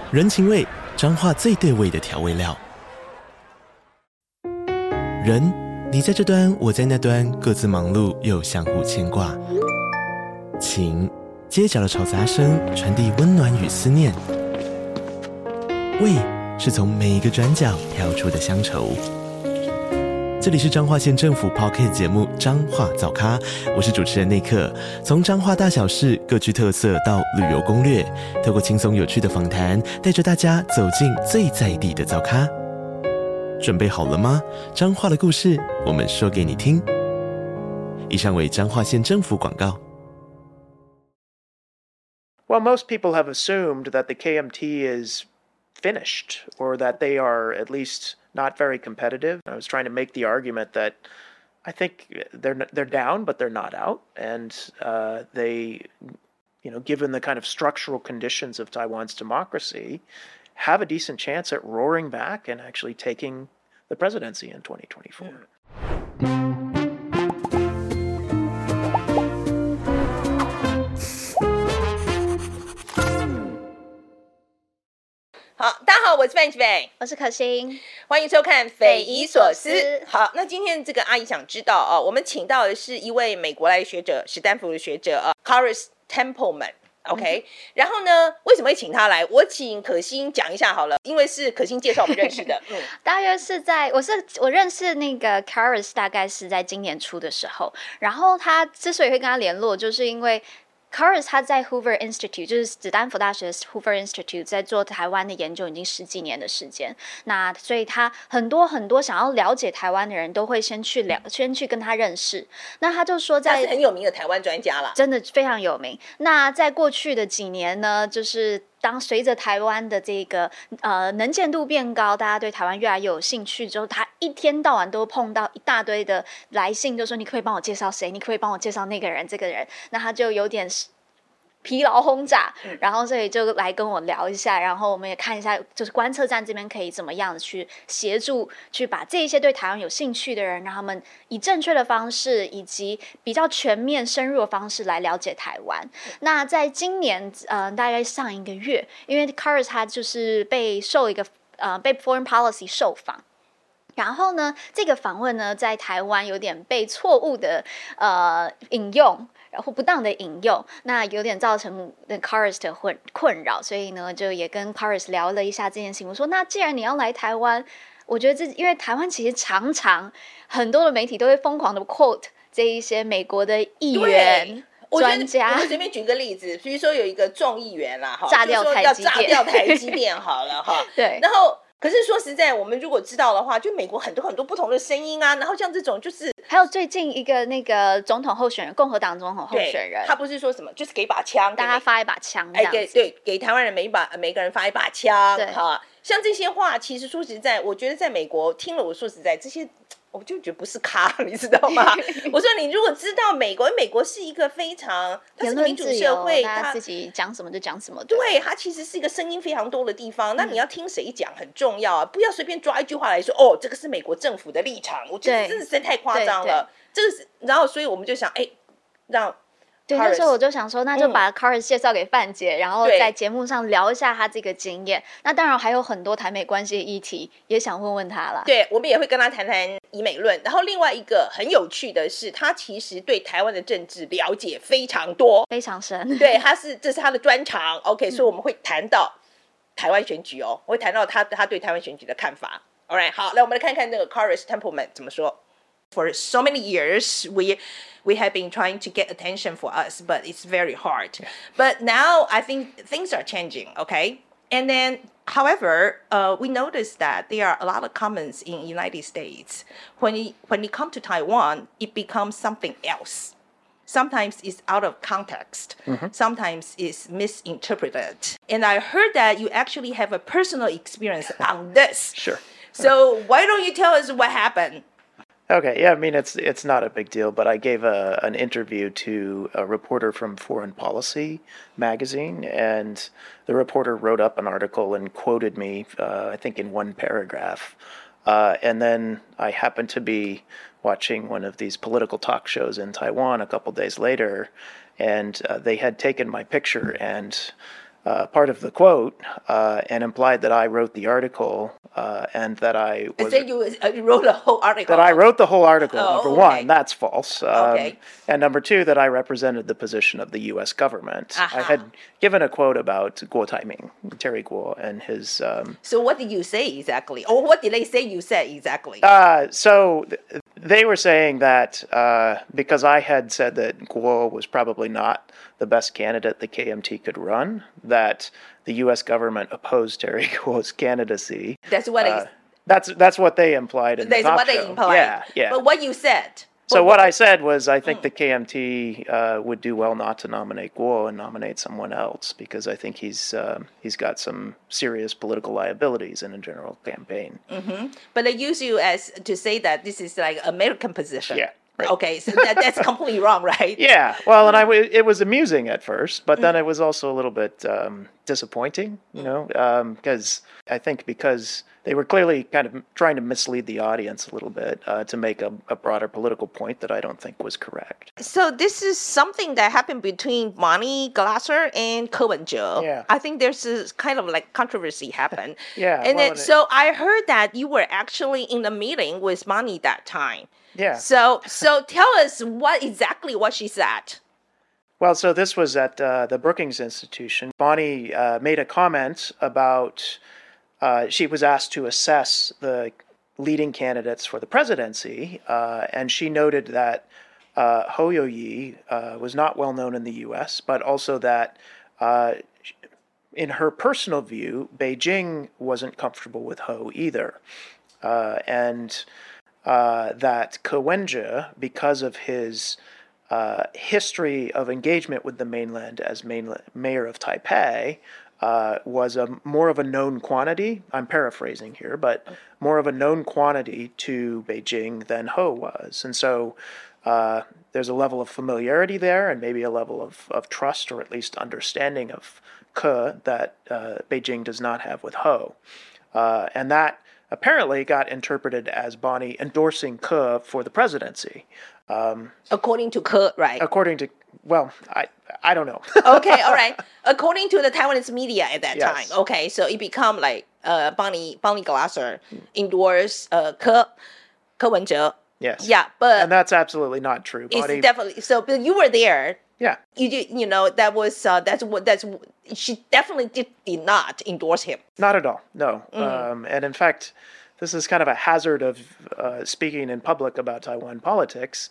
人情味，彰化最對味的調味料。人，你在這端，我在那端，各自忙碌又相互牽掛。情，街角的吵雜聲傳遞溫暖與思念。味，是從每一個轉角跳出的鄉愁。這裡是彰化縣政府 Podcast 節目《彰化早咖》，我是主持人內克。從彰化大小事各具特色到旅遊攻略，透過輕鬆有趣的訪談，帶着大家走進最在地的早咖。準備好了嗎？彰化的故事，我們說給你聽。以上為彰化縣政府廣告。 Well, most people have assumed that the KMT is finished, or that they are at least not very competitive. I was trying to make the argument that I think they're down, but they're not out, and they, given the kind of structural conditions of Taiwan's democracy, have a decent chance at roaring back and actually taking the presidency in 2024. Hi, 大家好，我是范琪斐， 我是可心， 歡迎收看《斐姨所思》。好，那今天這個阿姨想知道我們請到的是一位美國來的學者，史丹福的學者Carus Templeman。OK，然後呢，為什麼會請他來？我請可心講一下好了，因為是可心介紹我們認識的。 大約是我認識那個 Carus 大概是在今年初的時候，然後他之所以會跟他聯絡，就是因為Carus 他在 Hoover Institute， 就是史丹福大學 Hoover Institute 在做台灣的研究已經10幾年的時間，那所以他很多想要了解台灣的人都會先去跟他認識。那他就說他是很有名的台灣專家啦， 真的非常有名。那在過去的幾年呢，就是隨着台灣的這個能見度變高，大家對台灣越來越有興趣之後，他一天到晚都碰到一大堆的來信，就說你可以幫我介紹誰，你可以幫我介紹那個人這個人，那他就有點疲勞轟炸，然後所以就來跟我聊一下，然後我們也看一下，就是觀測站這邊可以怎麼樣去協助，去把這一些對台灣有興趣的人，讓他們以正確的方式以及比較全面深入的方式來了解台灣。那在今年大概上一個月，因為 Carus 他就是被 Foreign Policy 受訪。然後呢，這個訪問呢，在台灣有點被錯誤的引用，然後不當的引用，那有點造成Carus 的困擾，所以呢，就也跟 Carus 聊了一下這件事情。我說，那既然你要來台灣，我覺得因為台灣其實常常很多的媒體都會瘋狂的 quote 這一些美國的議員。專家， 我們隨便舉個例子，比如說有一個眾議員啦， 炸掉台積電， 要炸掉台積電好了哈。 對， 然後。可是說實在，我們如果知道的話，就美國很多不同的聲音啊，然後像這種就是還有最近一個那個總統候選人，共和黨總統候選人， 他不是說什麼就是給把槍， 大家發一把槍這樣子， 給台灣人每個人發一把槍， 對哈，像這些話，其實說實在，我覺得在美國聽了，我說實在這些。我就覺得不是咖，你知道嗎？我說你如果知道美國是一個非常，它是個民主社會， 他自己講什麼就講什麼， 對，它其實是一個聲音非常多的地方。那你要聽誰講很重要啊，不要隨便抓一句話來說，哦，這個是美國政府的立場，我覺得真的是太誇張了。這個是，然後所以我們就想，讓。 對，那時候我就想說，那就把 Carus 介紹給范姐，然後在節目上聊一下他這個經驗。那當然還有很多台美關係的議題，也想問問他啦。 對，我們也會跟他談談以美論。然後另外一個很有趣的是，他其實對台灣的政治了解非常多， 非常深。 對，這是他的專長。OK，所以我們會談到台灣選舉我會談到他對台灣選舉的看法。All right， 好，來我們來看看那個 Carus Templeman 怎麼說。For so many years, we have been trying to get attention for us, but it's very hard. But now I think things are changing, okay? And then, however, we noticed that there are a lot of comments in the United States. When you come to Taiwan, it becomes something else. Sometimes it's out of context. Mm-hmm. Sometimes it's misinterpreted. And I heard that you actually have a personal experience on this. Sure. So why don't you tell us what happened? Okay, yeah, I mean, it's not a big deal, but I gave an interview to a reporter from Foreign Policy magazine, and the reporter wrote up an article and quoted me, I think in one paragraph. And then I happened to be watching one of these political talk shows in Taiwan a couple days later, and they had taken my picture and part of the quote and implied that I wrote the article and that I was. So you wrote the whole article. That I wrote the whole article. Oh, number okay. one, that's false. Okay. And number two, that I represented the position of the U.S. government. Uh-huh. I had given a quote about Guo Taiming, Terry Guo, and his. So what did you say exactly, or what did they say you said exactly? So they were saying that because I had said that Guo was probably not the best candidate the KMT could run, that the U.S. government opposed Terry Guo's candidacy. That's what That's what they implied in the that's talk what show. they implied. Yeah. But what you said. So what I said was, I think the KMT would do well not to nominate Guo and nominate someone else, because I think he's got some serious political liabilities in a general campaign. Mm-hmm. But they use you as to say that this is like American position. Yeah. Right. Okay, so that's completely wrong, right? Yeah. Well, and it was amusing at first, but then it was also a little bit disappointing, because I think because they were clearly kind of trying to mislead the audience a little bit to make a broader political point that I don't think was correct. So this is something that happened between Bonnie Glasser and Ko Wen-je. Yeah. I think there's this kind of like controversy happened. Yeah. And well, then, so I heard that you were actually in a meeting with Bonnie that time. Yeah. So tell us what she said. Well, so this was at the Brookings Institution. Bonnie made a comment about she was asked to assess the leading candidates for the presidency, and she noted that Ho Yo-yi was not well known in the U.S., but also that in her personal view, Beijing wasn't comfortable with Ho either, and that Ko Wen-je, because of his history of engagement with the mainland as mayor of Taipei, was more of a known quantity. I'm paraphrasing here, but more of a known quantity to Beijing than Ho was. And so there's a level of familiarity there, and maybe a level of trust, or at least understanding of Ke that Beijing does not have with Ho. And that apparently got interpreted as Bonnie endorsing Ke for the presidency. According to Ke, right? According to, well, I don't know. Okay, all right. According to the Taiwanese media at that Yes. time. Okay, so it become like Bonnie Glasser endorsed Ke Wen-je. Yes. Yeah, but And that's absolutely not true. it's Bonnie, definitely so. But you were there. yeah. That was that's she definitely did not endorse him. Not at all, no. And in fact, this is kind of a hazard of speaking in public about Taiwan politics.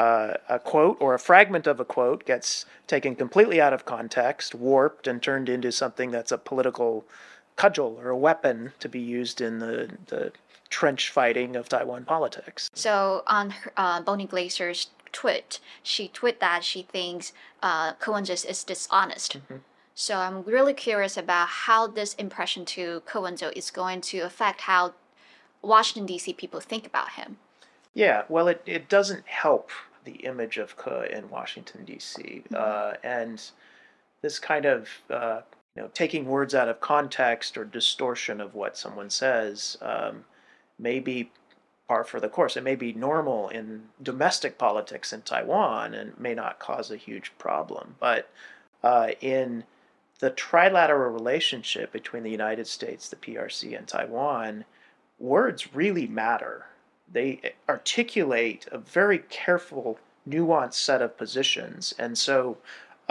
A quote or a fragment of a quote gets taken completely out of context, warped, and turned into something that's a political cudgel or a weapon to be used in the trench fighting of Taiwan politics. So on her, Bonnie Glaser's tweet, she tweeted that she thinks Ko Wen-je is dishonest. Mm-hmm. So I'm really curious about how this impression to Ko Wen-je is going to affect how Washington, D.C. people think about him. Yeah, well, it doesn't help the image of Ke in Washington, D.C. And this kind of taking words out of context or distortion of what someone says may be par for the course. It may be normal in domestic politics in Taiwan and may not cause a huge problem. But in the trilateral relationship between the United States, the PRC, and Taiwan, words really matter. They articulate a very careful, nuanced set of positions. And so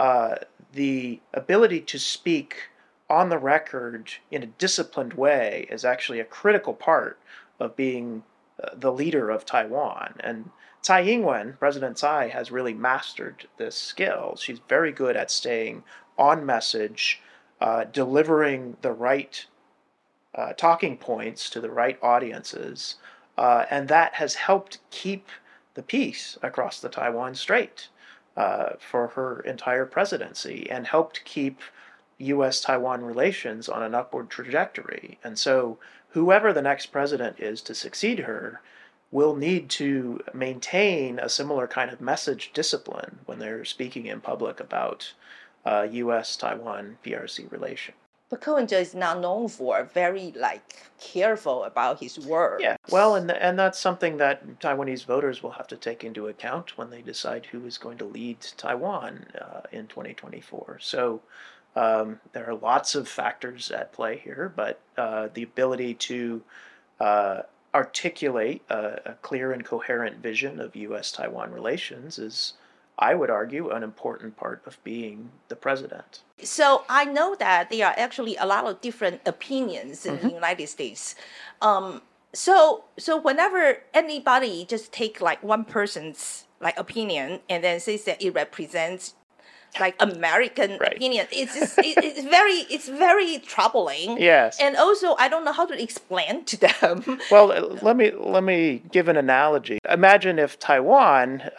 the ability to speak on the record in a disciplined way is actually a critical part of being the leader of Taiwan. And Tsai Ing-wen, President Tsai, has really mastered this skill. She's very good at staying on message, delivering the right talking points to the right audiences, and that has helped keep the peace across the Taiwan Strait for her entire presidency, and helped keep U.S.-Taiwan relations on an upward trajectory. And so whoever the next president is to succeed her will need to maintain a similar kind of message discipline when they're speaking in public about U.S.-Taiwan PRC relation. But Ko Wen-je is now known for very careful about his words. Yeah, well, and that's something that Taiwanese voters will have to take into account when they decide who is going to lead Taiwan in 2024. So There are lots of factors at play here, but the ability to articulate a clear and coherent vision of U.S.-Taiwan relations is, I would argue, an important part of being the president. So I know that there are actually a lot of different opinions in the United States. So whenever anybody just take like one person's like opinion and then says that it represents like American opinion, it's very troubling. Yes. And also I don't know how to explain to them. Well, let me give an analogy. Imagine if Taiwan's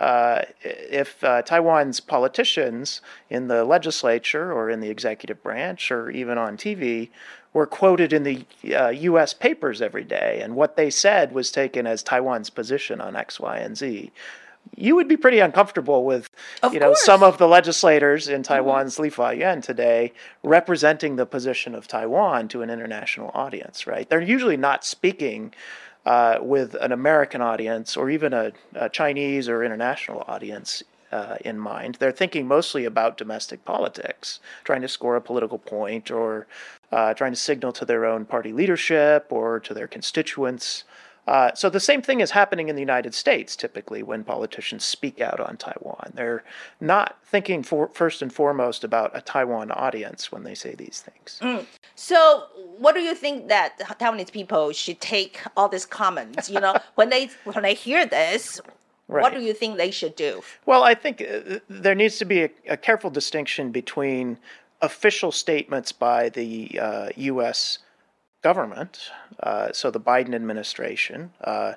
politicians in the legislature or in the executive branch or even on TV were quoted in the U.S. papers every day, and what they said was taken as Taiwan's position on X, Y, and Z. You would be pretty uncomfortable with, some of the legislators in Taiwan's Li Fa-Yuan today representing the position of Taiwan to an international audience, right? They're usually not speaking with an American audience or even a Chinese or international audience in mind. They're thinking mostly about domestic politics, trying to score a political point or trying to signal to their own party leadership or to their constituents. So the same thing is happening in the United States, typically, when politicians speak out on Taiwan. They're not thinking first and foremost about a Taiwan audience when they say these things. So what do you think that Taiwanese people should take all these comments? When they hear this, what do you think they should do? Well, I think there needs to be a careful distinction between official statements by the U.S. government, so the Biden administration.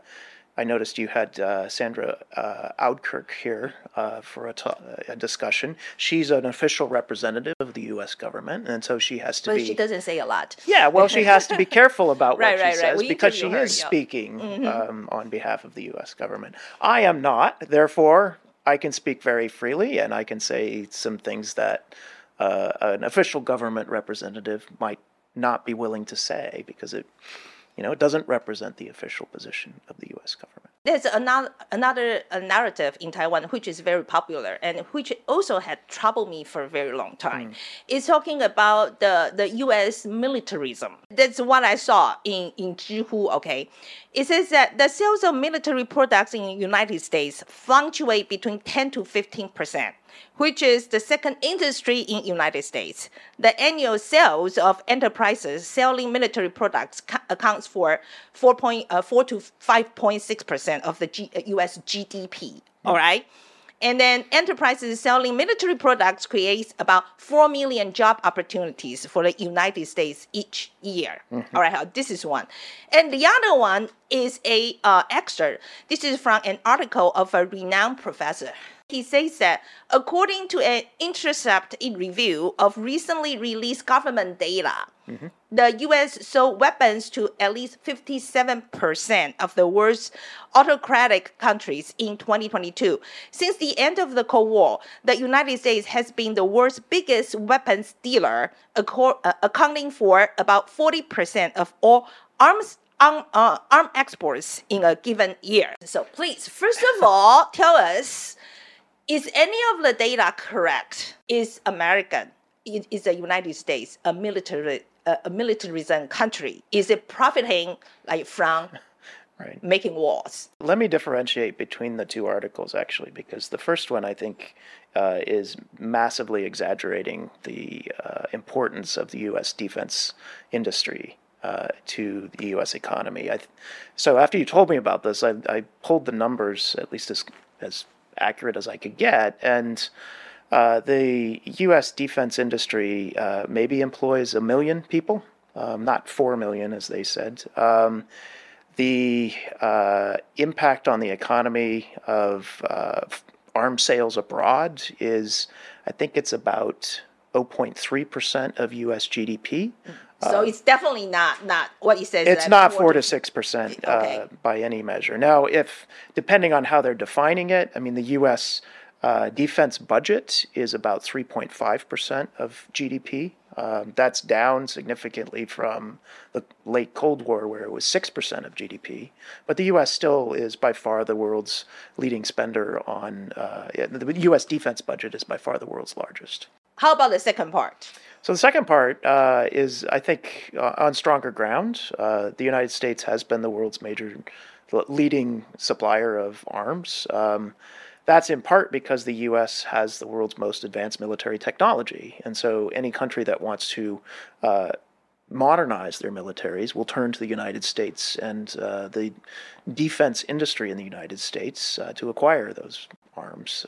I noticed you had Sandra Audkirk here for a discussion. She's an official representative of the U.S. government, and so she has to be... But she doesn't say a lot. Yeah, well, she has to be careful about what she says because she is her, speaking on behalf of the U.S. government. I am not, therefore, I can speak very freely, and I can say some things that an official government representative might not be willing to say because it doesn't represent the official position of the U.S. government. There's another narrative in Taiwan which is very popular and which also had troubled me for a very long time. It's talking about the U.S. militarism. That's what I saw in Zhihu, okay? It says that the sales of military products in the United States fluctuate between 10 to 15%. Which is the second industry in United States. The annual sales of enterprises selling military products accounts for 4 to 5.6% of the U.S. GDP. All right. And then enterprises selling military products creates about 4 million job opportunities for the United States each year. All right, this is one. And the other one is a excerpt. This is from an article of a renowned professor. He says that according to an Intercept review of recently released government data, the U.S. sold weapons to at least 57% of the world's autocratic countries in 2022. Since the end of the Cold War, the United States has been the world's biggest weapons dealer, accounting for about 40% of all arms exports in a given year. So please, first of all, tell us, is any of the data correct? Is American? Is the United States a militarism country? Is it profiting from making wars? Let me differentiate between the two articles, actually, because the first one, I think, is massively exaggerating the importance of the U.S. defense industry to the U.S. economy. So after you told me about this, I pulled the numbers, at least as accurate as I could get, and the U.S. defense industry maybe employs 1 million people, not 4 million, as they said. The impact on the economy of arms sales abroad is, I think it's about 0.3% of U.S. GDP. So it's definitely not what you said. It's not 4 to 6% by any measure. Now, depending on how they're defining it, I mean, the U.S. Defense budget is about 3.5% of GDP. That's down significantly from the late Cold War, where it was 6% of GDP. But the U.S. still is by far the world's leading spender on the U.S. defense budget is by far the world's largest. How about the second part? So the second part is, I think, on stronger ground. The United States has been the world's major leading supplier of arms. That's in part because the U.S. has the world's most advanced military technology. And so any country that wants to modernize their militaries will turn to the United States and the defense industry in the United States to acquire those arms.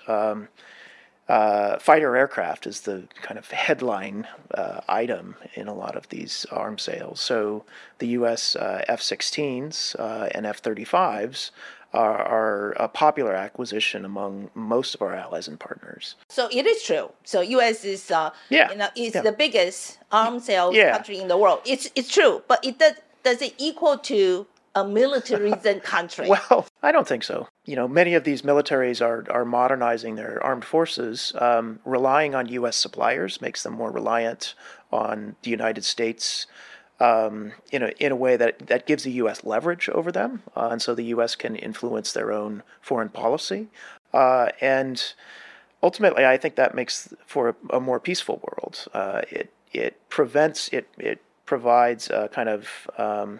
Fighter aircraft is the kind of headline item in a lot of these arms sales. So the U.S. F-16s and F-35s are a popular acquisition among most of our allies and partners. So it is true. So U.S. is the biggest arms sales country in the world. It's true, but does it equal to a militarism country? Well, I don't think so. Many of these militaries are modernizing their armed forces. Relying on U.S. suppliers makes them more reliant on the United States in a way that gives the U.S. leverage over them. And so the U.S. can influence their own foreign policy. And ultimately, I think that makes for a more peaceful world. It provides a kind of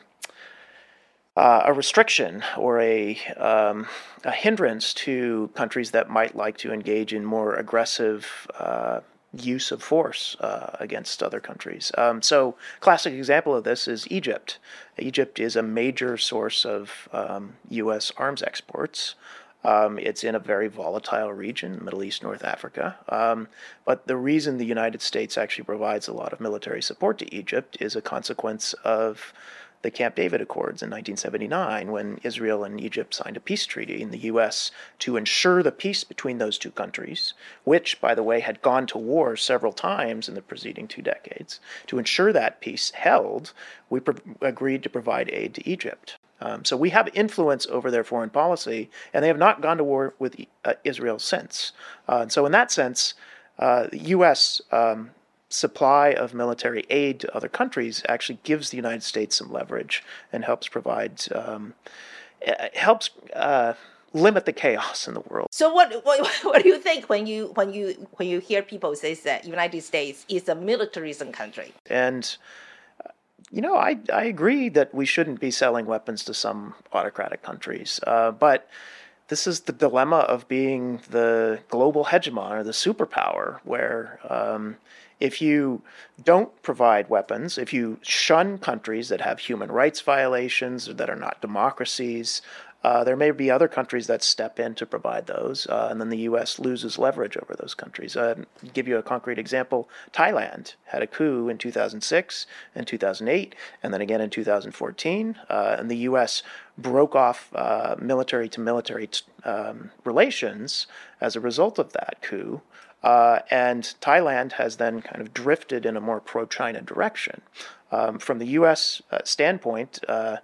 a restriction or a hindrance to countries that might like to engage in more aggressive use of force against other countries. So classic example of this is Egypt. Egypt is a major source of U.S. arms exports. It's in a very volatile region, Middle East, North Africa. But the reason the United States actually provides a lot of military support to Egypt is a consequence of the Camp David Accords in 1979, when Israel and Egypt signed a peace treaty in the U.S. to ensure the peace between those two countries, which, by the way, had gone to war several times in the preceding 2 decades. To ensure that peace held, we agreed to provide aid to Egypt. So we have influence over their foreign policy, and they have not gone to war with Israel since. So in that sense, the U.S. supply of military aid to other countries actually gives the United States some leverage and helps provide, limit the chaos in the world. So what do you think when you hear people say that United States is a militarism country? And I agree that we shouldn't be selling weapons to some autocratic countries, but this is the dilemma of being the global hegemon or the superpower, where if you don't provide weapons, if you shun countries that have human rights violations or that are not democracies, there may be other countries that step in to provide those, and then the U.S. loses leverage over those countries. I'll give you a concrete example. Thailand had a coup in 2006 and 2008, and then again in 2014, and the U.S. broke off military-to-military relations as a result of that coup. And Thailand has then kind of drifted in a more pro-China direction. From the U.S. standpoint,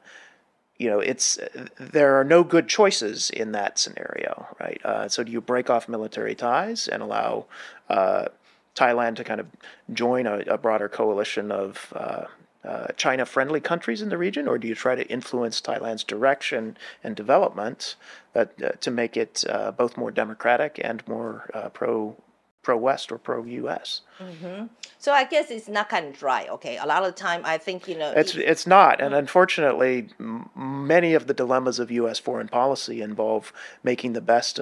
there are no good choices in that scenario, right? So do you break off military ties and allow Thailand to kind of join a broader coalition of China-friendly countries in the region, or do you try to influence Thailand's direction and development to make it both more democratic and more pro-West or pro-U.S.? Mm-hmm. So I guess it's not kind of dry, okay? A lot of the time, I think, It's not, and unfortunately, many of the dilemmas of U.S. foreign policy involve making the best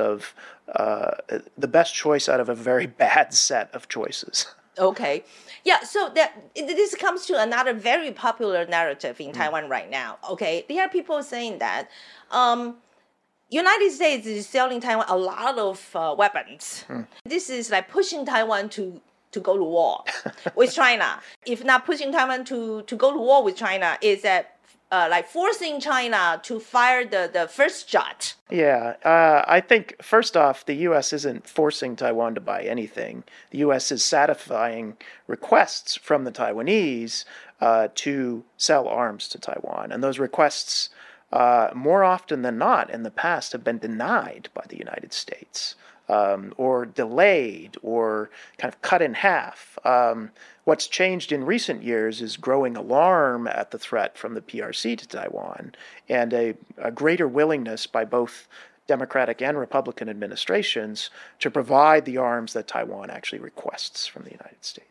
choice out of a very bad set of choices. Okay. Yeah, so this comes to another very popular narrative in Taiwan right now, okay? There are people saying that United States is selling Taiwan a lot of weapons. This is like pushing Taiwan to go to war with China. If not pushing Taiwan to go to war with China, is that like forcing China to fire the first shot? Yeah, I think first off, the U.S. isn't forcing Taiwan to buy anything. The U.S. is satisfying requests from the Taiwanese to sell arms to Taiwan, and those requests, more often than not in the past, have been denied by the United States. Or delayed or kind of cut in half. What's changed in recent years is growing alarm at the threat from the PRC to Taiwan and a greater willingness by both Democratic and Republican administrations to provide the arms that Taiwan actually requests from the United States.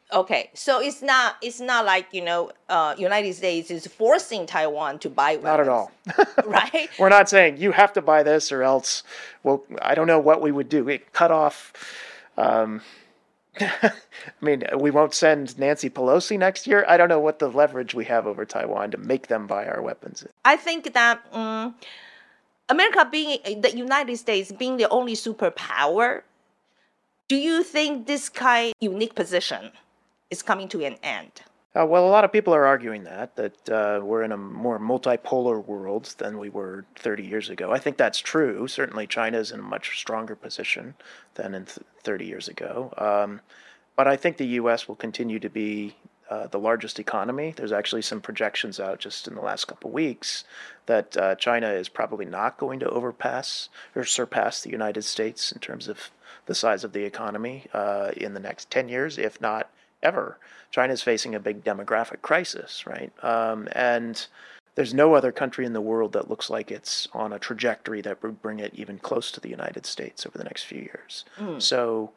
Okay, so it's not like United States is forcing Taiwan to buy weapons. Not at all. Right? We're not saying you have to buy this or else. Well, I don't know what we would do. We cut off. I mean, we won't send Nancy Pelosi next year. I don't know what the leverage we have over Taiwan to make them buy our weapons. I think that America being the United States being the only superpower, do you think this kind of unique position is coming to an end? Well, a lot of people are arguing that we're in a more multipolar world than we were 30 years ago. I think that's true. Certainly, China is in a much stronger position than in 30 years ago. But I think the U.S. will continue to be the largest economy. There's actually some projections out just in the last couple of weeks that China is probably not going to overpass or surpass the United States in terms of the size of the economy in the next 10 years, if not ever. China's facing a big demographic crisis, right? And there's no other country in the world that looks like it's on a trajectory that would bring it even close to the United States over the next few years. So,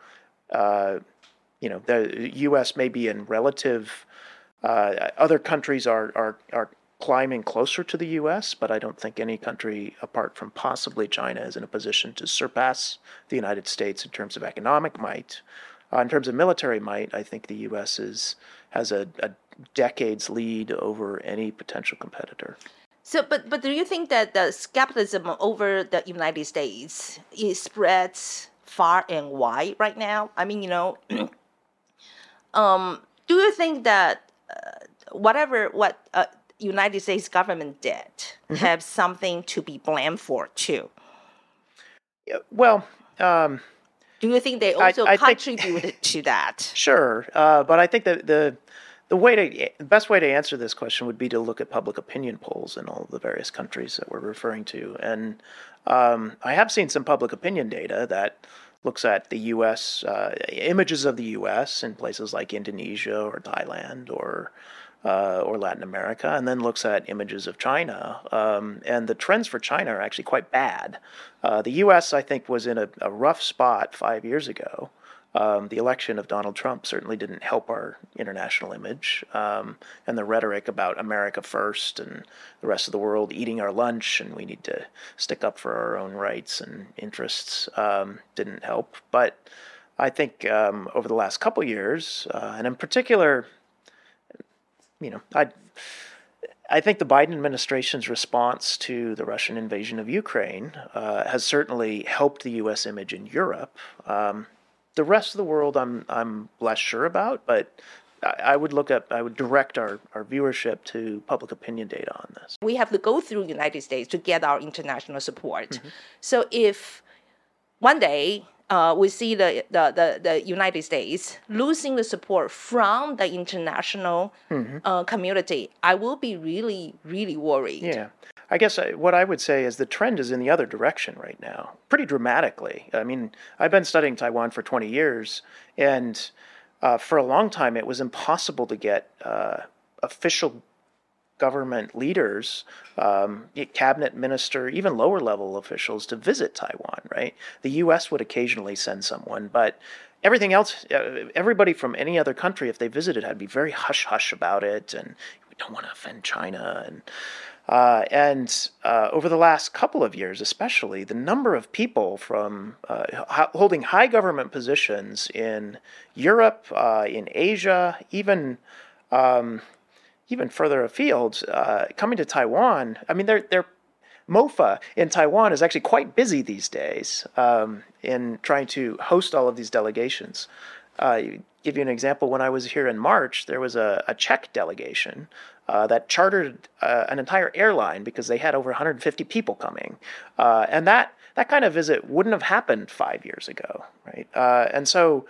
the U.S. may be in relative. Other countries are climbing closer to the U.S., but I don't think any country apart from possibly China is in a position to surpass the United States in terms of economic might. In terms of military might, I think the U.S. has a decade's lead over any potential competitor. So, but do you think that the skepticism over the United States spreads far and wide right now? I mean, do you think that what United States government did have something to be blamed for too? Yeah, well. Do you think they also I contributed to that? Sure, but I think that the best way to answer this question would be to look at public opinion polls in all of the various countries that we're referring to, and I have seen some public opinion data that looks at the U.S. Images of the U.S. in places like Indonesia or Thailand or Latin America, and then looks at images of China. And the trends for China are actually quite bad. The U.S., I think, was in a rough spot 5 years ago. The election of Donald Trump certainly didn't help our international image. And the rhetoric about America first and the rest of the world eating our lunch and we need to stick up for our own rights and interests didn't help. But I think over the last couple years, and in particular, I think the Biden administration's response to the Russian invasion of Ukraine has certainly helped the U.S. image in Europe. The rest of the world, I'm less sure about, but I would direct our viewership to public opinion data on this. We have to go through the United States to get our international support. So if one day we see the United States losing the support from the international community, I will be really, really worried. Yeah. I guess what I would say is the trend is in the other direction right now, pretty dramatically. I mean, I've been studying Taiwan for 20 years, and for a long time it was impossible to get official government leaders, cabinet minister, even lower level officials to visit Taiwan, right? The U.S. would occasionally send someone, but everything else, everybody from any other country, if they visited, had to be very hush-hush about it, and we don't want to offend China. And over the last couple of years especially, the number of people from holding high government positions in Europe, in Asia, even further afield, coming to Taiwan. I mean, their MOFA in Taiwan is actually quite busy these days in trying to host all of these delegations. Give you an example. When I was here in March, there was a Czech delegation that chartered an entire airline because they had over 150 people coming. And that kind of visit wouldn't have happened 5 years ago, right? And so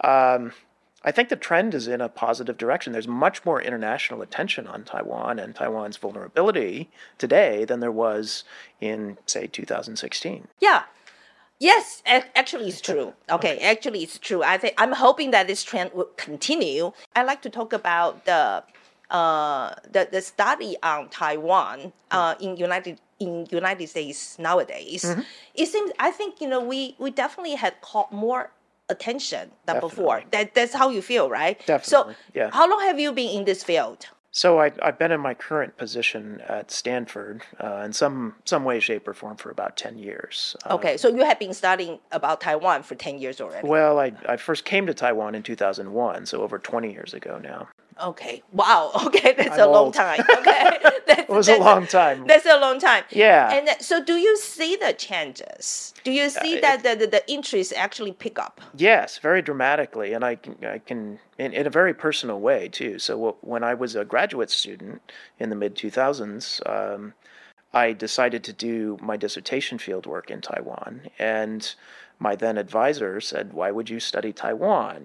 I think the trend is in a positive direction. There's much more international attention on Taiwan and Taiwan's vulnerability today than there was in, say, 2016. Yeah. Yes, actually it's true. Okay, actually it's true. I'm hoping that this trend will continue. I'd like to talk about the study on Taiwan in United States nowadays. It seems, I think, we definitely had caught more attention than Definitely. before. That's how you feel, right? Definitely, So yeah. how long have you been in this field? So I've been in my current position at Stanford in some way, shape, or form for about 10 years. Okay, so you have been studying about Taiwan for 10 years already. Well, I first came to Taiwan in 2001, so over 20 years ago now. Okay. Wow. Okay, that's I'm a long old. time. Okay, It was a long time. That's a long time. Yeah. And so, do you see the changes? Do you see that the interest actually pick up? Yes, very dramatically, and I can in a very personal way too. So when I was a graduate student in the mid 2000s, I decided to do my dissertation fieldwork in Taiwan, and my then advisor said, "Why would you study Taiwan?"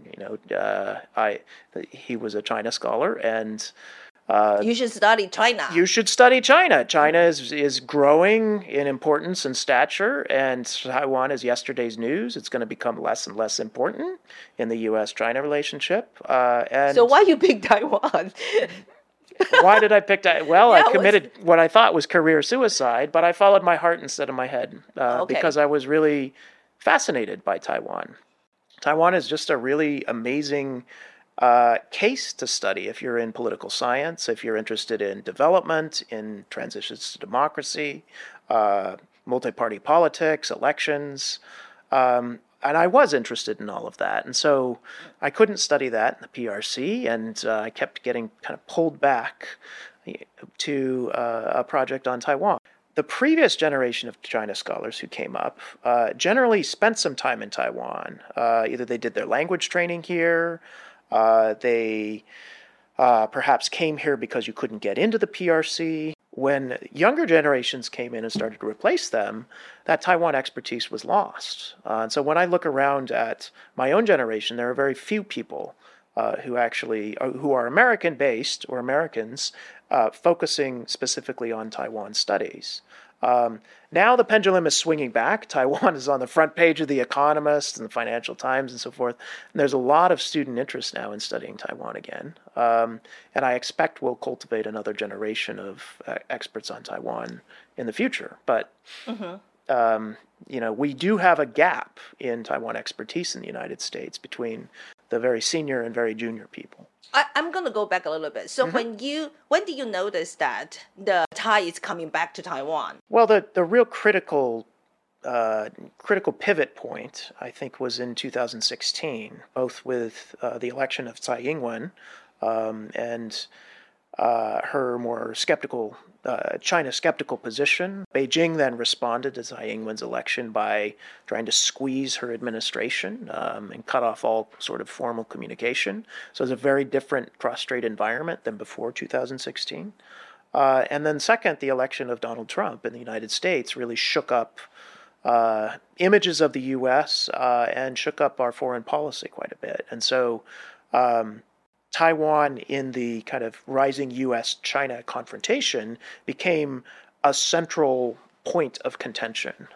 He was a China scholar, and You should study China. you should study China. China is growing in importance and stature, and Taiwan is yesterday's news. It's going to become less and less important in the U.S.-China relationship. And So why you pick Taiwan? why did I pick that? Well, Yeah, I committed what I thought was career suicide, but I followed my heart instead of my head because I was really fascinated by Taiwan. Taiwan is just a really amazing case to study if you're in political science, if you're interested in development, in transitions to democracy, multi-party politics, elections. And I was interested in all of that. And so I couldn't study that in the PRC, and I kept getting kind of pulled back to a project on Taiwan. The previous generation of China scholars who came up generally spent some time in Taiwan. Either they did their language training here, they perhaps came here because you couldn't get into the PRC. When younger generations came in and started to replace them, that Taiwan expertise was lost. And so when I look around at my own generation, there are very few people who are American-based or Americans focusing specifically on Taiwan studies. Now the pendulum is swinging back. Taiwan is on the front page of The Economist and the Financial Times and so forth. And there's a lot of student interest now in studying Taiwan again. And I expect we'll cultivate another generation of experts on Taiwan in the future. But, we do have a gap in Taiwan expertise in the United States between the very senior and very junior people. I'm going to go back a little bit. So when did you notice that the tide is coming back to Taiwan? Well, the real critical pivot point, I think, was in 2016, both with the election of Tsai Ing-wen and her more skeptical, China skeptical position. Beijing then responded to Tsai Ing-wen's election by trying to squeeze her administration and cut off all sort of formal communication. So it's a very different cross-strait environment than before 2016. And then second, the election of Donald Trump in the United States really shook up images of the U.S. And shook up our foreign policy quite a bit. And so Taiwan, in the kind of rising U.S.-China confrontation, became a central point of contention.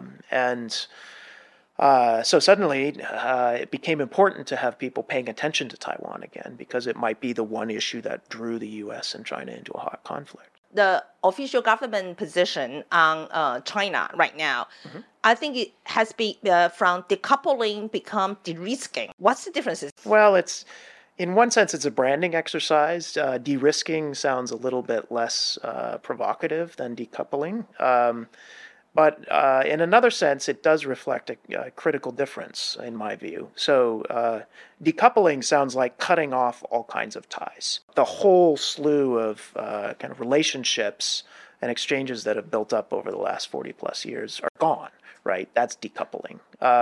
So suddenly it became important to have people paying attention to Taiwan again, because it might be the one issue that drew the U.S. and China into a hot conflict. The official government position on China right now, I think it has been from decoupling become de-risking. What's the differences? Well, in one sense, it's a branding exercise. De-risking sounds a little bit less provocative than decoupling. But in another sense, it does reflect a critical difference, in my view. So decoupling sounds like cutting off all kinds of ties. The whole slew of kind of relationships and exchanges that have built up over the last 40 plus years are gone, right? That's decoupling.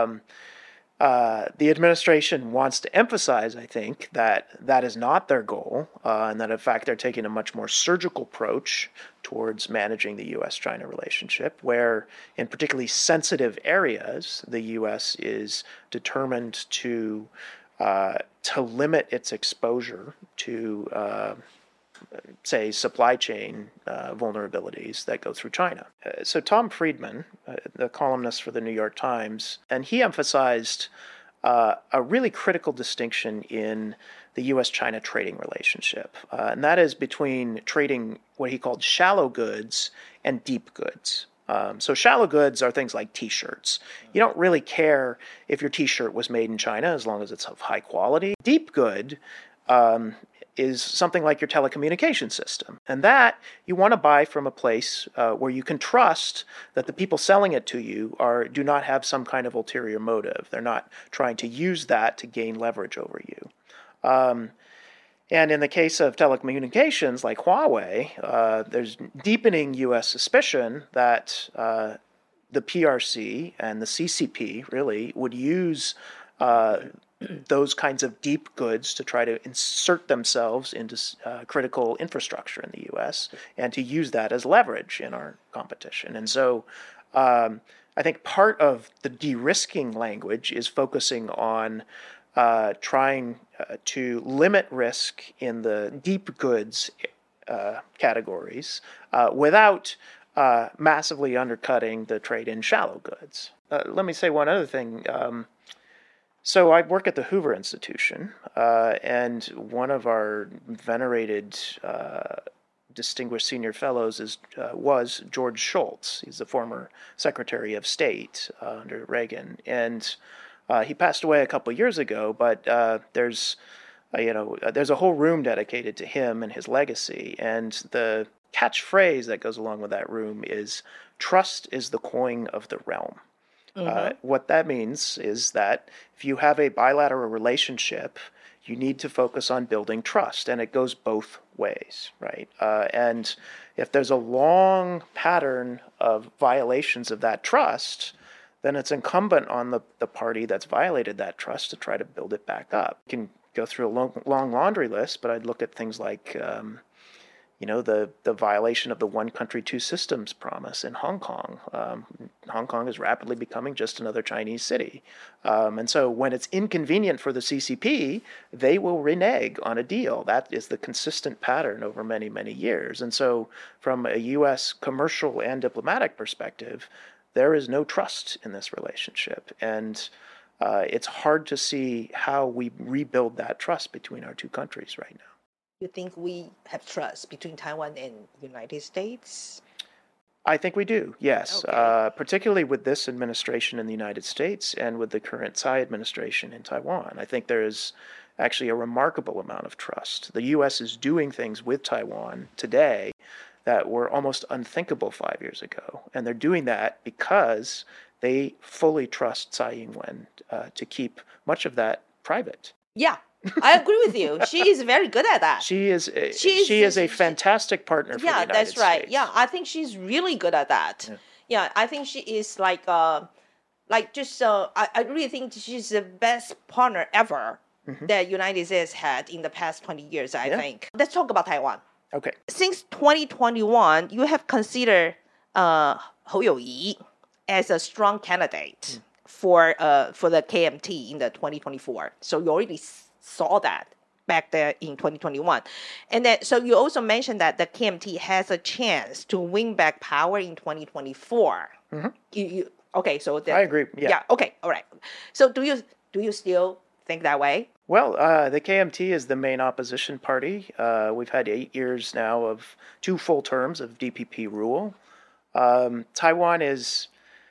The administration wants to emphasize, I think, that is not their goal, and that in fact they're taking a much more surgical approach towards managing the U.S.-China relationship, where in particularly sensitive areas, the U.S. is determined to limit its exposure to say, supply chain vulnerabilities that go through China. So Tom Friedman, the columnist for the New York Times, and he emphasized a really critical distinction in the U.S.-China trading relationship, and that is between trading what he called shallow goods and deep goods. So shallow goods are things like T-shirts. You don't really care if your T-shirt was made in China as long as it's of high quality. Deep good is something like your telecommunication system. And that you want to buy from a place where you can trust that the people selling it to you do not have some kind of ulterior motive. They're not trying to use that to gain leverage over you. And in the case of telecommunications like Huawei, there's deepening U.S. suspicion that the PRC and the CCP really would use those kinds of deep goods to try to insert themselves into critical infrastructure in the U.S. and to use that as leverage in our competition. And so I think part of the de-risking language is focusing on trying to limit risk in the deep goods categories without massively undercutting the trade in shallow goods. Let me say one other thing. So I work at the Hoover Institution, and one of our venerated distinguished senior fellows was George Shultz. He's the former Secretary of State under Reagan, and he passed away a couple years ago. But there's a whole room dedicated to him and his legacy, and the catchphrase that goes along with that room is "Trust is the coin of the realm." What that means is that if you have a bilateral relationship, you need to focus on building trust, and it goes both ways, right? And if there's a long pattern of violations of that trust, then it's incumbent on the party that's violated that trust to try to build it back up. You can go through a long laundry list, but I'd look at things like the violation of the one country, two systems promise in Hong Kong. Hong Kong is rapidly becoming just another Chinese city. And so when it's inconvenient for the CCP, they will renege on a deal. That is the consistent pattern over many, many years. And so from a U.S. commercial and diplomatic perspective, there is no trust in this relationship. And it's hard to see how we rebuild that trust between our two countries right now. You think we have trust between Taiwan and United States? I think we do, yes. Okay. Particularly with this administration in the United States and with the current Tsai administration in Taiwan. I think there is actually a remarkable amount of trust. The U.S. is doing things with Taiwan today that were almost unthinkable 5 years ago. And they're doing that because they fully trust Tsai Ing-wen to keep much of that private. Yeah. I agree with you. She is very good at that. She is a fantastic partner for the United States. Yeah, that's right. Yeah, I think she's really good at that. Yeah, I think she is I really think she's the best partner ever that United States had in the past 20 years, I think. Let's talk about Taiwan. Okay. Since 2021, you have considered Hou You-yi as a strong candidate for the KMT in the 2024. So you already saw that back there in 2021. And then, so you also mentioned that the KMT has a chance to win back power in 2024. Okay, so I agree. Yeah. Okay. All right. So do you still think that way? Well, the KMT is the main opposition party. We've had 8 years now of 2 full terms of DPP rule. Taiwan is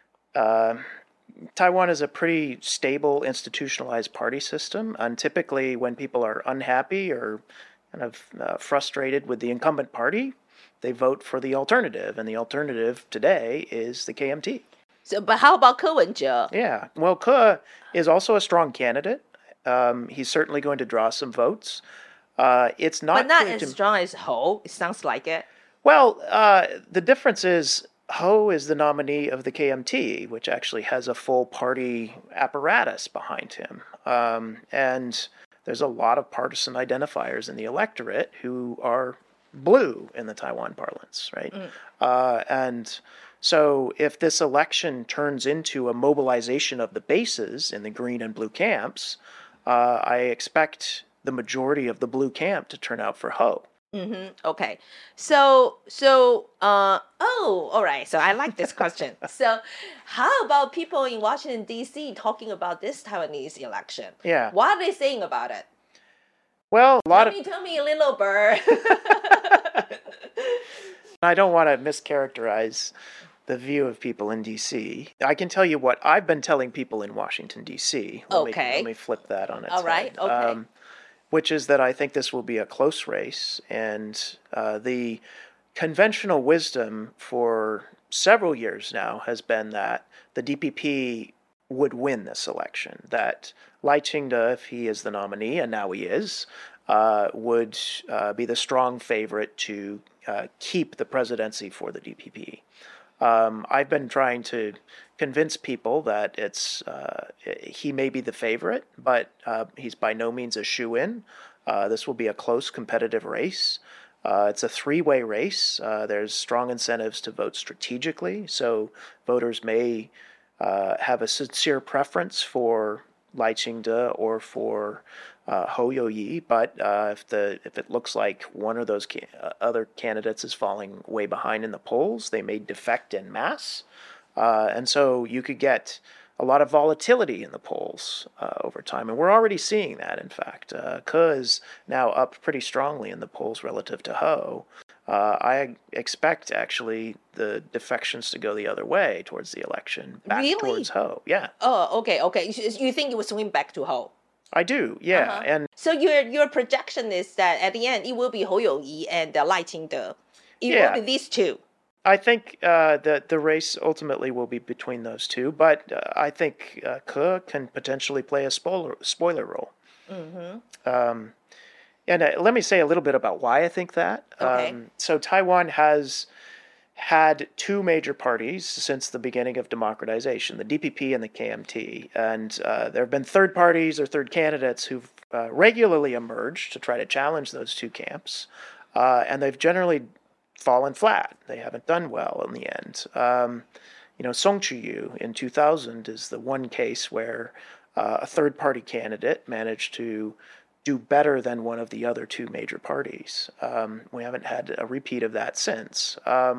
a pretty stable, institutionalized party system, and typically when people are unhappy or kind of frustrated with the incumbent party, they vote for the alternative, and the alternative today is the KMT. So, but how about Ko Wen-je? Yeah, well, Ko is also a strong candidate. He's certainly going to draw some votes. It's not, but not as strong as Hou. It sounds like it. Well, the difference is Hou is the nominee of the KMT, which actually has a full party apparatus behind him. And there's a lot of partisan identifiers in the electorate who are blue in the Taiwan parlance, right? And so if this election turns into a mobilization of the bases in the green and blue camps, I expect the majority of the blue camp to turn out for Hou. Okay. So, all right. So I like this question. So how about people in Washington, D.C. talking about this Taiwanese election? Yeah. What are they saying about it? Well, Tell me a little bird. I don't want to mischaracterize the view of people in D.C. I can tell you what I've been telling people in Washington, D.C. Let me flip that on its All right. head. Okay. Which is that I think this will be a close race, and the conventional wisdom for several years now has been that the DPP would win this election, that Lai Ching-te, if he is the nominee, and now he is, would be the strong favorite to keep the presidency for the DPP. I've been trying to convince people that he may be the favorite, but he's by no means a shoo-in. This will be a close competitive race. It's a three-way race. There's strong incentives to vote strategically, so voters may have a sincere preference for Lai Ching-te or for Hou You-yi, but if it looks like one of those other candidates is falling way behind in the polls, they may defect en masse, and so you could get a lot of volatility in the polls over time, and we're already seeing that. In fact, Ke is now up pretty strongly in the polls relative to Hou. I expect actually the defections to go the other way towards the election, back towards Hou. Yeah. Oh, okay. You think it will swing back to Hou? I do, yeah. And so your projection is that at the end it will be Hou You-yi and Lai Ching-te. It will be these two. I think the race ultimately will be between those two, but I think Ke can potentially play a spoiler role. Mm-hmm. And let me say a little bit about why I think that. Okay. So Taiwan has had two major parties since the beginning of democratization, the DPP and the KMT. And there have been third parties or third candidates who've regularly emerged to try to challenge those two camps. And they've generally fallen flat. They haven't done well in the end. Song Chu-yu in 2000 is the one case where a third party candidate managed to do better than one of the other two major parties. We haven't had a repeat of that since.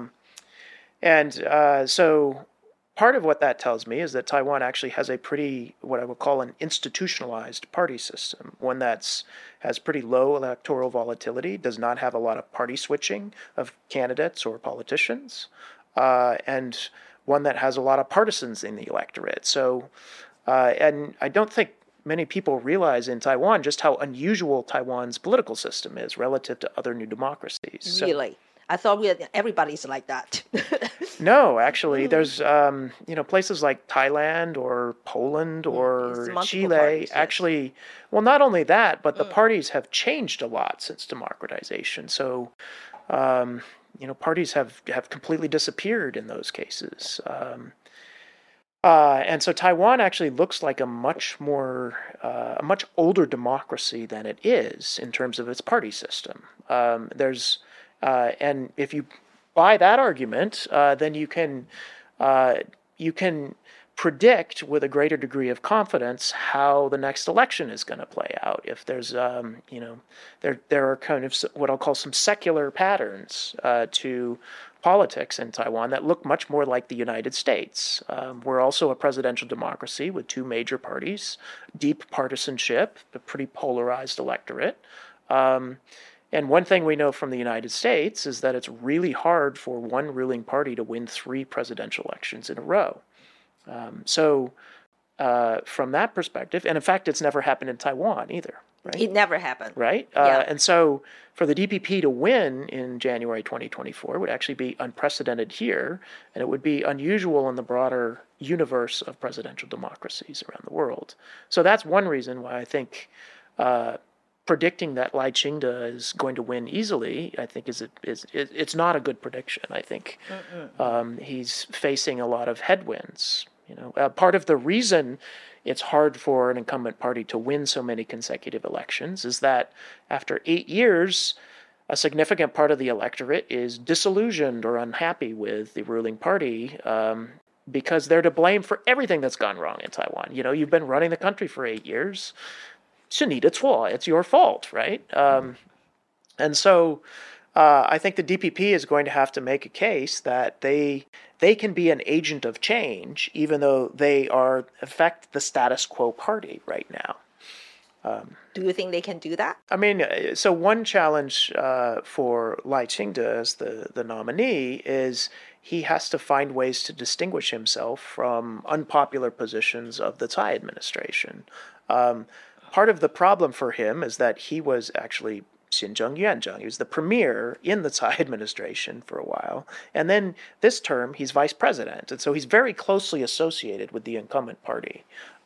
So part of what that tells me is that Taiwan actually has a pretty, what I would call an institutionalized party system, one that's has pretty low electoral volatility, does not have a lot of party switching of candidates or politicians, and one that has a lot of partisans in the electorate. So, and I don't think many people realize in Taiwan just how unusual Taiwan's political system is relative to other new democracies. Really? I thought everybody's like that. No, actually, there's places like Thailand or Poland or Chile. Parties, yes. Actually, well, not only that, but the parties have changed a lot since democratization. So, parties have completely disappeared in those cases. And so Taiwan actually looks like a much older democracy than it is in terms of its party system. And if you buy that argument, then you can predict with a greater degree of confidence how the next election is going to play out. If there's, there are kind of what I'll call some secular patterns to politics in Taiwan that look much more like the United States. We're also a presidential democracy with two major parties, deep partisanship, a pretty polarized electorate. And one thing we know from the United States is that it's really hard for one ruling party to win 3 presidential elections in a row. So from that perspective, and in fact, it's never happened in Taiwan either. Right? It never happened. Right? Yeah. And so for the DPP to win in January 2024 would actually be unprecedented here, and it would be unusual in the broader universe of presidential democracies around the world. So that's one reason why I think predicting that Lai Ching-te is going to win easily, I think it's not a good prediction. I think he's facing a lot of headwinds. Part of the reason it's hard for an incumbent party to win so many consecutive elections is that after 8 years, a significant part of the electorate is disillusioned or unhappy with the ruling party because they're to blame for everything that's gone wrong in Taiwan. You've been running the country for 8 years. 是你的错, it's your fault, right? And so I think the DPP is going to have to make a case that they can be an agent of change, even though they affect the status quo party right now. Do you think they can do that? I mean, so one challenge for Lai Ching-te as the nominee is he has to find ways to distinguish himself from unpopular positions of the Tsai administration. Part of the problem for him is that he was actually Xinzheng Yuanzheng. He was the premier in the Tsai administration for a while. And then this term, he's vice president. And so he's very closely associated with the incumbent party.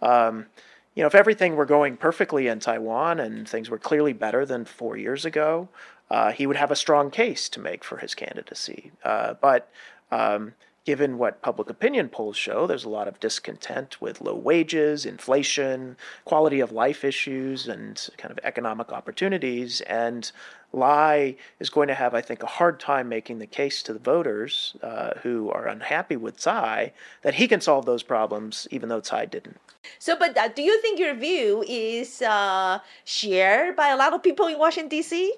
If everything were going perfectly in Taiwan and things were clearly better than 4 years ago, he would have a strong case to make for his candidacy. But given what public opinion polls show, there's a lot of discontent with low wages, inflation, quality of life issues, and kind of economic opportunities. And Lai is going to have, I think, a hard time making the case to the voters who are unhappy with Tsai that he can solve those problems, even though Tsai didn't. So, but do you think your view is shared by a lot of people in Washington, D.C.?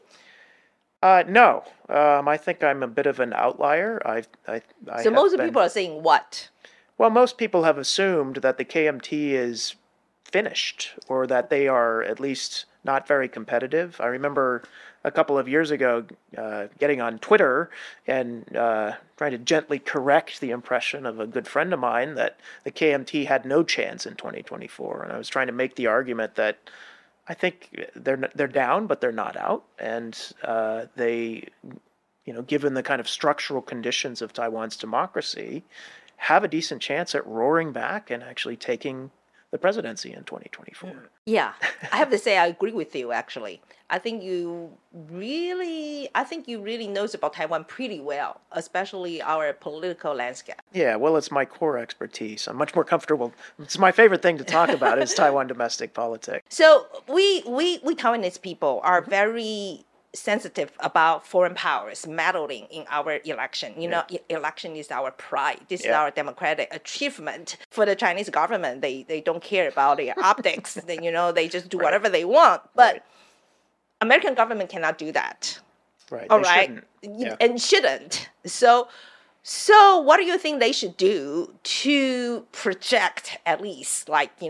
No. I think I'm a bit of an outlier. So most people are saying what? Well, most people have assumed that the KMT is finished or that they are at least not very competitive. I remember a couple of years ago getting on Twitter and trying to gently correct the impression of a good friend of mine that the KMT had no chance in 2024. And I was trying to make the argument that I think they're down, but they're not out. And they, given the kind of structural conditions of Taiwan's democracy, have a decent chance at roaring back and actually taking the presidency in 2024. Yeah, I have to say I agree with you, actually. I think you really knows about Taiwan pretty well, especially our political landscape. Yeah, well, it's my core expertise. I'm much more comfortable. It's my favorite thing to talk about is Taiwan domestic politics. So we Taiwanese people are very sensitive about foreign powers meddling in our election. Election is our pride. This is our democratic achievement. For the Chinese government, they don't care about the optics. They just do whatever they want. But American government cannot do that. Right. All right. And shouldn't. So what do you think they should do to project at least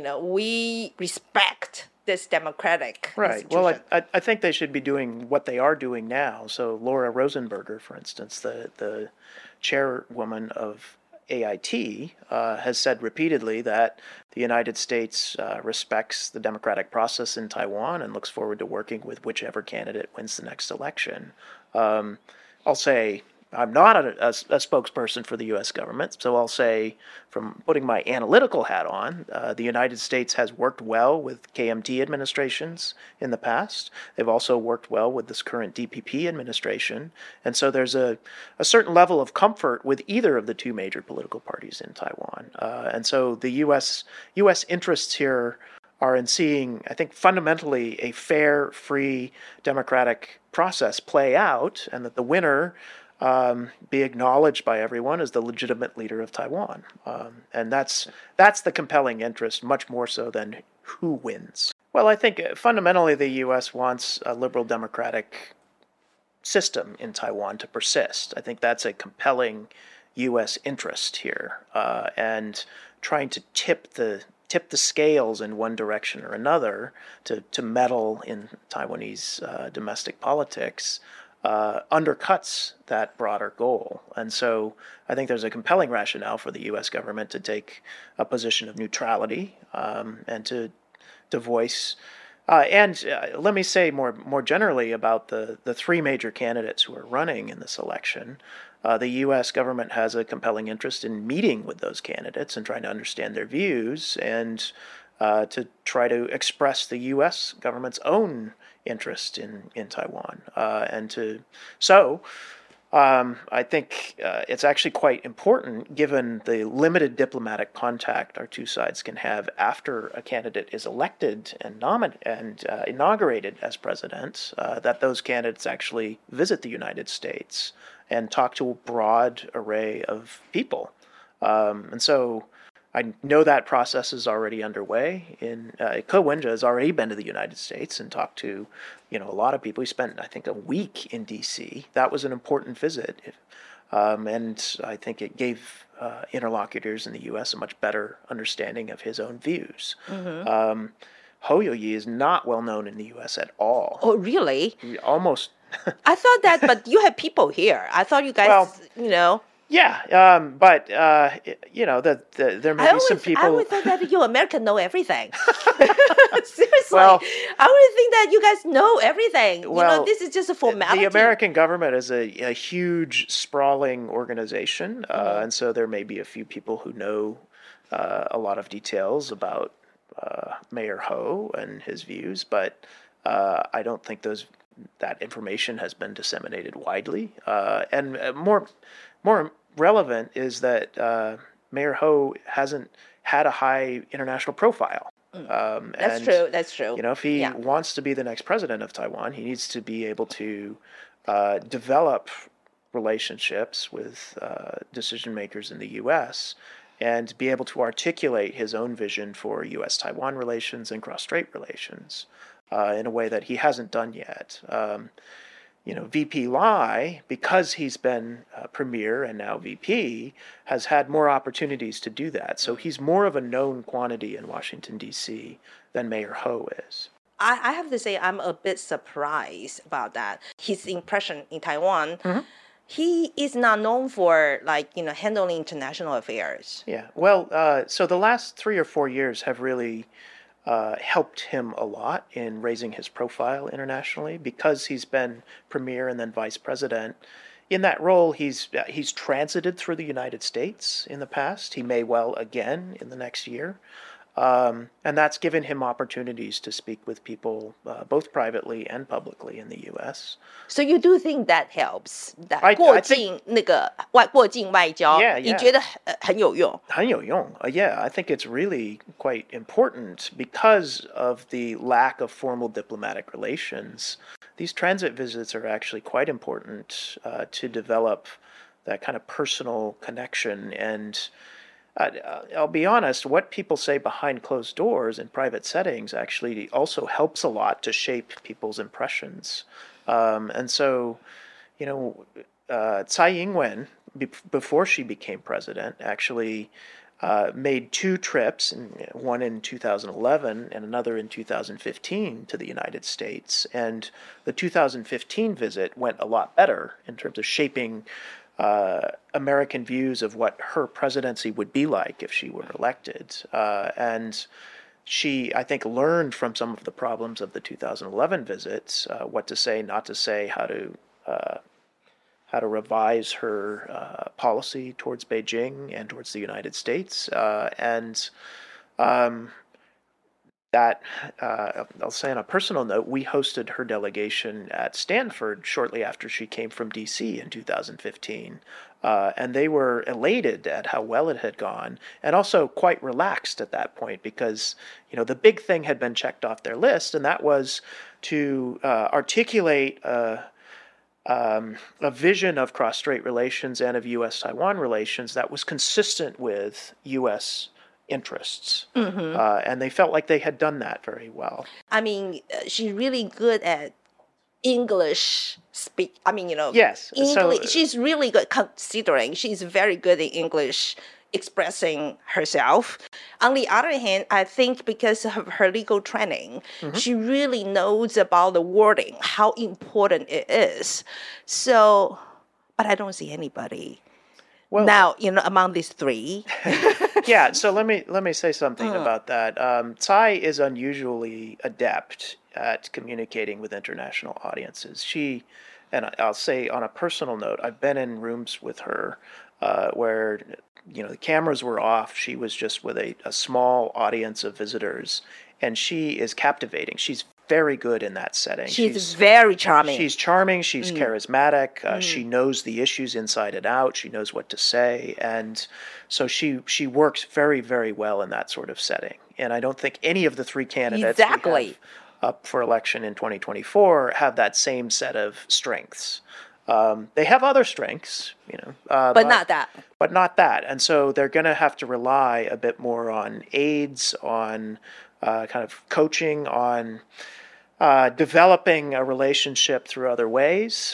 we respect this democratic institution? Well, I think they should be doing what they are doing now. So Laura Rosenberger, for instance, the chairwoman of AIT, has said repeatedly that the United States respects the democratic process in Taiwan and looks forward to working with whichever candidate wins the next election. I'll say I'm not a spokesperson for the U.S. government, so I'll say, from putting my analytical hat on, the United States has worked well with KMT administrations in the past. They've also worked well with this current DPP administration, and so there's a certain level of comfort with either of the two major political parties in Taiwan. And so the U.S. interests here are in seeing, I think, fundamentally a fair, free, democratic process play out, and that the winner be acknowledged by everyone as the legitimate leader of Taiwan. And that's the compelling interest, much more so than who wins. Well, I think fundamentally the U.S. wants a liberal democratic system in Taiwan to persist. I think that's a compelling U.S. interest here. And trying to tip the scales in one direction or another to meddle in Taiwanese domestic politics undercuts that broader goal. And so I think there's a compelling rationale for the U.S. government to take a position of neutrality and to voice. And let me say more generally about the three major candidates who are running in this election. The U.S. government has a compelling interest in meeting with those candidates and trying to understand their views and to try to express the U.S. government's own interest in Taiwan. I think it's actually quite important, given the limited diplomatic contact our two sides can have after a candidate is elected and inaugurated as president, that those candidates actually visit the United States and talk to a broad array of people. And so I know that process is already underway. Ko Wen-je has already been to the United States and talked to, a lot of people. He spent, I think, a week in D.C. That was an important visit, and I think it gave interlocutors in the U.S. a much better understanding of his own views. Mm-hmm. Hou Youyi is not well known in the U.S. at all. Oh, really? Almost. I thought that, but you have people here. I thought you guys, Well, Yeah, but there may be some people. I always thought that you Americans know everything. Seriously, Well, I would think that you guys know everything. Well, this is just a formality. The American government is a huge, sprawling organization, and so there may be a few people who know a lot of details about Mayor Hou and his views, but I don't think that information has been disseminated widely. And more relevant is that Mayor Hou hasn't had a high international profile. That's true. That's true. If he wants to be the next president of Taiwan, he needs to be able to develop relationships with decision makers in the U.S. and be able to articulate his own vision for U.S.-Taiwan relations and cross-strait relations in a way that he hasn't done yet. VP Lai, because he's been premier and now VP, has had more opportunities to do that. So he's more of a known quantity in Washington, D.C. than Mayor Hou is. I have to say I'm a bit surprised about that. His impression in Taiwan, he is not known for handling international affairs. Yeah, well, so the last 3 or 4 years have really helped him a lot in raising his profile internationally because he's been premier and then vice president. In that role, he's transited through the United States in the past. He may well again in the next year. And that's given him opportunities to speak with people both privately and publicly in the U.S. So you do think that helps? That 过境外交， 你觉得很有用？ 很有用. Yeah, I think it's really quite important because of the lack of formal diplomatic relations. These transit visits are actually quite important to develop that kind of personal connection. And I'll be honest, what people say behind closed doors in private settings actually also helps a lot to shape people's impressions. And so, Tsai Ing-wen, before she became president, actually made 2 trips, one in 2011 and another in 2015 to the United States. And the 2015 visit went a lot better in terms of shaping American views of what her presidency would be like if she were elected. And she, I think, learned from some of the problems of the 2011 visits, what to say, not to say, how to revise her policy towards Beijing and towards the United States. That, I'll say on a personal note, we hosted her delegation at Stanford shortly after she came from D.C. in 2015. And they were elated at how well it had gone and also quite relaxed at that point because, the big thing had been checked off their list, and that was to articulate a vision of cross-strait relations and of U.S.-Taiwan relations that was consistent with U.S. interests. And they felt like they had done that very well. I mean, she's really good at English speak. Yes. English. She's really good considering she's very good in English expressing herself. On the other hand, I think because of her legal training, she really knows about the wording, how important it is. So, but I don't see anybody. Well, now, among these 3. Yeah, so let me say something about that. Tsai is unusually adept at communicating with international audiences. And I'll say on a personal note, I've been in rooms with her where, the cameras were off. She was just with a small audience of visitors, and she is captivating. She's very good in that setting. She's very charming. She's charming. She's charismatic. She knows the issues inside and out. She knows what to say. And so she works very, very well in that sort of setting. And I don't think any of the 3 candidates we have up for election in 2024 have that same set of strengths. They have other strengths, but not that. But not that. And so they're going to have to rely a bit more on aides, on kind of coaching, on developing a relationship through other ways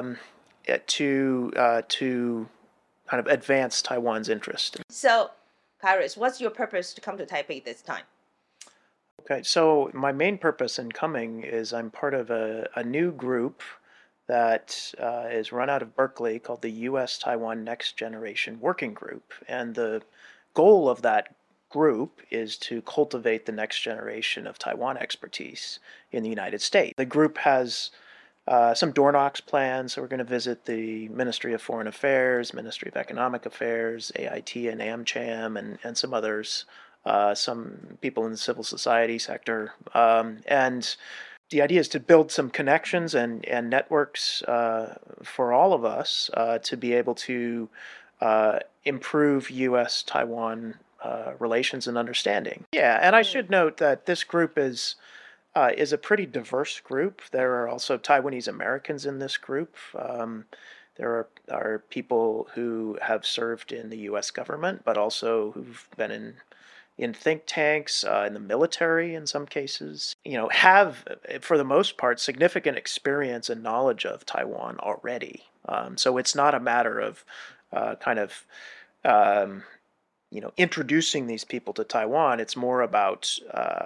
to kind of advance Taiwan's interest. So, Kairos, what's your purpose to come to Taipei this time? Okay, so my main purpose in coming is I'm part of a new group that is run out of Berkeley called the U.S. Taiwan Next Generation Working Group. And the goal of that group is to cultivate the next generation of Taiwan expertise in the United States. The group has some door knocks plans, so we're going to visit the Ministry of Foreign Affairs, Ministry of Economic Affairs, AIT and AmCham, and some others, some people in the civil society sector. And the idea is to build some connections and networks for all of us to be able to improve U.S.-Taiwan relations and understanding. Yeah, and I should note that this group is a pretty diverse group. There are also Taiwanese Americans in this group. There are people who have served in the U.S. government, but also who've been in think tanks, in the military in some cases, have, for the most part, significant experience and knowledge of Taiwan already. So it's not a matter of introducing these people to Taiwan. It's more about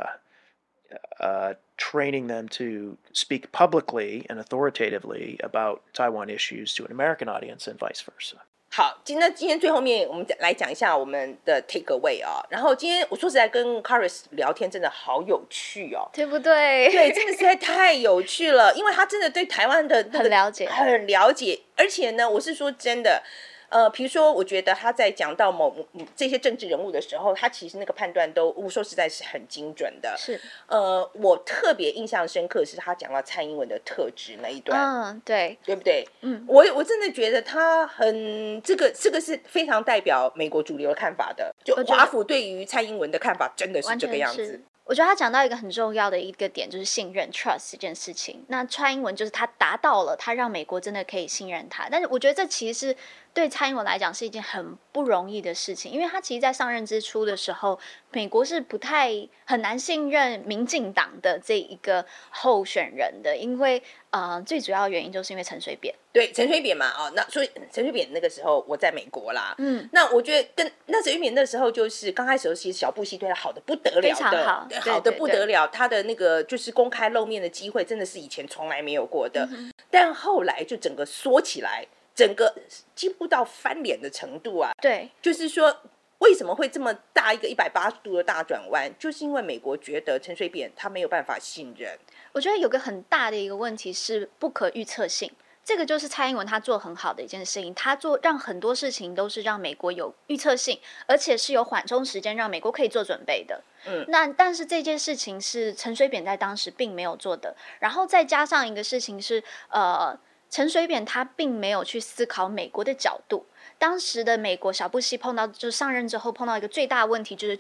training them to speak publicly and authoritatively about Taiwan issues to an American audience and vice versa. 好，今天最后面我们来講一下我們的 take away 啊。然後今天我說實在跟 Caris 聊天真的好有趣哦， 對不對？ 對，真的實在太有趣了，因為他真的對台灣的很了解， 很了解，而且呢，我是說真的。比如說，我覺得他在講到這些政治人物的時候，他其實那個判斷都，我說實在是很精準的。是，我特別印象深刻是他講到蔡英文的特質那一段，對，對不對？我真的覺得他很這個是非常代表美國主流的看法的，就華府對於蔡英文的看法真的是這個樣子。 我覺得他講到一個很重要的一個點，就是信任 trust 這件事情。那蔡英文就是他達到了，他讓美國真的可以信任他。但是我覺得這其實是對蔡英文來講是一件很不容易的事情，因為他其實在上任之初的時候，美國是很難信任民進黨的這一個候選人的，因為最主要的原因就是因為陳水扁。 對，陳水扁嘛，那所以陳水扁那個時候我在美國啦，那我覺得那陳水扁那時候就是剛開始的時候，其實小布希對他好的不得了的，非常好，好的不得了，他的那個就是公開露面的機會，真的是以前從來沒有過的，但後來就整個縮起來，整個幾乎到翻臉的程度啊，對，就是說為什麼會這麼大一個180度的大轉彎，就是因為美國覺得陳水扁他沒有辦法信任。我覺得有個很大的一個問題是不可預測性。這個就是蔡英文他做很好的一件事情，他讓很多事情都是讓美國有預測性，而且是有緩衝時間讓美國可以做準備的。但是這件事情是陳水扁在當時並沒有做的，然後再加上一個事情是，陳水扁他並沒有去思考美國的角度。當時的美國小布希就是上任之後碰到一個最大的問題就是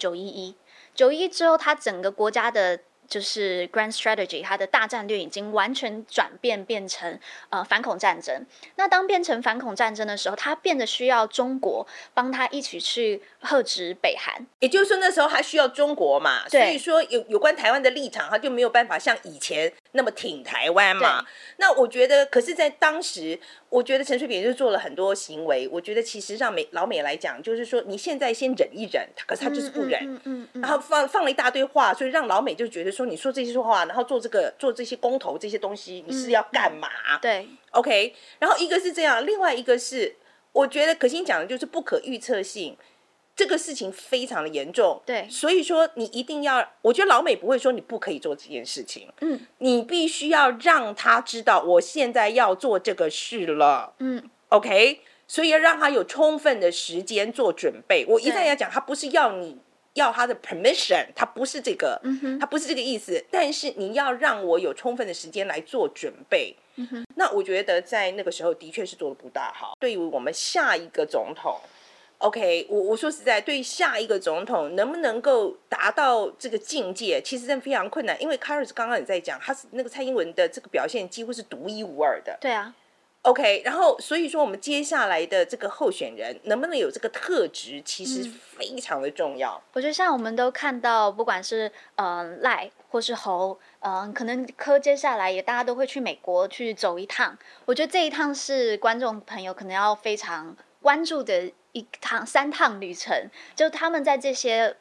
911之後，他整個國家的就是 Grand Strategy， 它的大戰略已經完全轉變成反恐戰爭。那當變成反恐戰爭的時候，它變得需要中國幫他一起去遏制北韓。也就是說，那時候還需要中國嘛，所以說有關台灣的立場，他就沒有辦法像以前那麼挺台灣嘛。那我覺得，可是在當時，我覺得陳水扁就做了很多行為，我覺得其實讓老美來講，就是說你現在先忍一忍，可是他就是不忍，然後放了一大堆話，所以讓老美就覺得說你說這些話，然後做這些公投這些東西，你是要幹嘛？對 ，OK。然後一個是這樣，另外一個是我覺得可心講的就是不可預測性。這個事情非常的嚴重，對，所以說你一定要，我覺得老美不會說你不可以做這件事情，你必須要讓他知道我現在要做這個事了，OK， 所以要讓他有充分的時間做準備。我一再要講，他不是要他的 permission， 他不是這個，他不是這個意思，但是你要讓我有充分的時間來做準備。那我覺得在那個時候的確是做得不大好，對於我們下一個總統。OK， 我說實在，對於下一個總統能不能夠達到這個境界，其實真的非常困難。因為 Caris 剛剛也在講，他是那個蔡英文的這個表現幾乎是獨一無二的。對啊。OK， 然後所以說我們接下來的這個候選人能不能有這個特質，其實非常的重要。我覺得像我們都看到，不管是賴或是侯，可能柯接下來也大家都會去美國去走一趟。我覺得這一趟是觀眾朋友可能要非常關注的3趟旅程，就他們在這些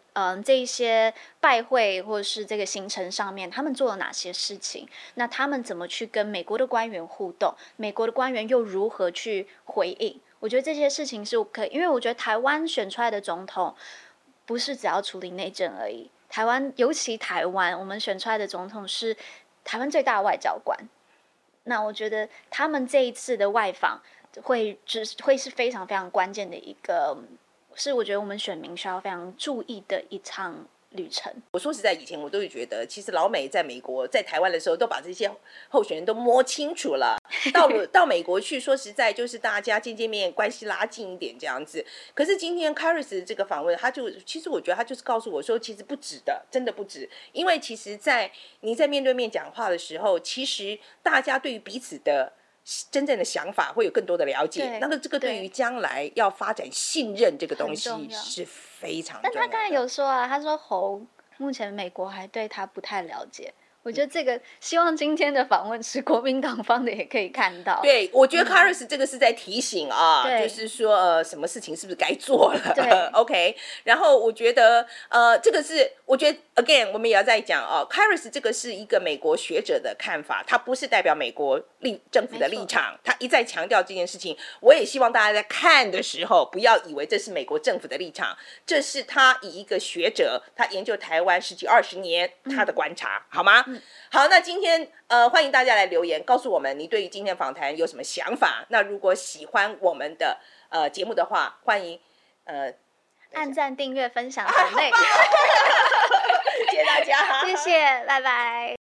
這一些拜會或者是這個行程上面，他們做了哪些事情？那他們怎麼去跟美國的官員互動？美國的官員又如何去回應？我覺得這些事情是可以，因為我覺得台灣選出來的總統不是只要處理內政而已。台灣，尤其台灣，我們選出來的總統是台灣最大的外交官。那我覺得他們這一次的外訪會是非常非常關鍵的一個，是我覺得我們選民需要非常注意的一場旅程。 我說實在，以前我都会覺得，其實老美在美國、在台灣的時候，都把這些候選人都摸清楚了。到美國去，說實在，就是大家見見面，關係拉近一點這樣子。可是今天 Karis 這個訪問，其實我覺得他就是告訴我說，其實不值的，真的不值。因為其實你在面對面講話的時候，其實大家對於彼此的真正的想法會有更多的了解，那这個對於將來要發展信任這個東西是非常重要的。 但他剛才有說啊，他說侯目前美國還對他不太了解。我覺得這個希望今天的訪問是國民黨方的也可以看到。 對，我覺得 Karis 這個是在提醒啊，就是說什麼事情是不是該做了。對，OK。然後我覺得這個是我覺得 again 我們也要再講啊 ，Karis 這個是一個美國學者的看法，他不是代表美國政府的立場，他一再強調這件事情。我也希望大家在看的時候不要以為這是美國政府的立場，這是他以一個學者，他研究台灣10幾20年他的觀察，好嗎？好，那今天歡迎大家來留言，告訴我們你對於今天訪談有什麼想法。那如果喜歡我們的節目的話，歡迎按讚、訂閱、分享、抖內。 謝謝大家， 謝謝，拜拜。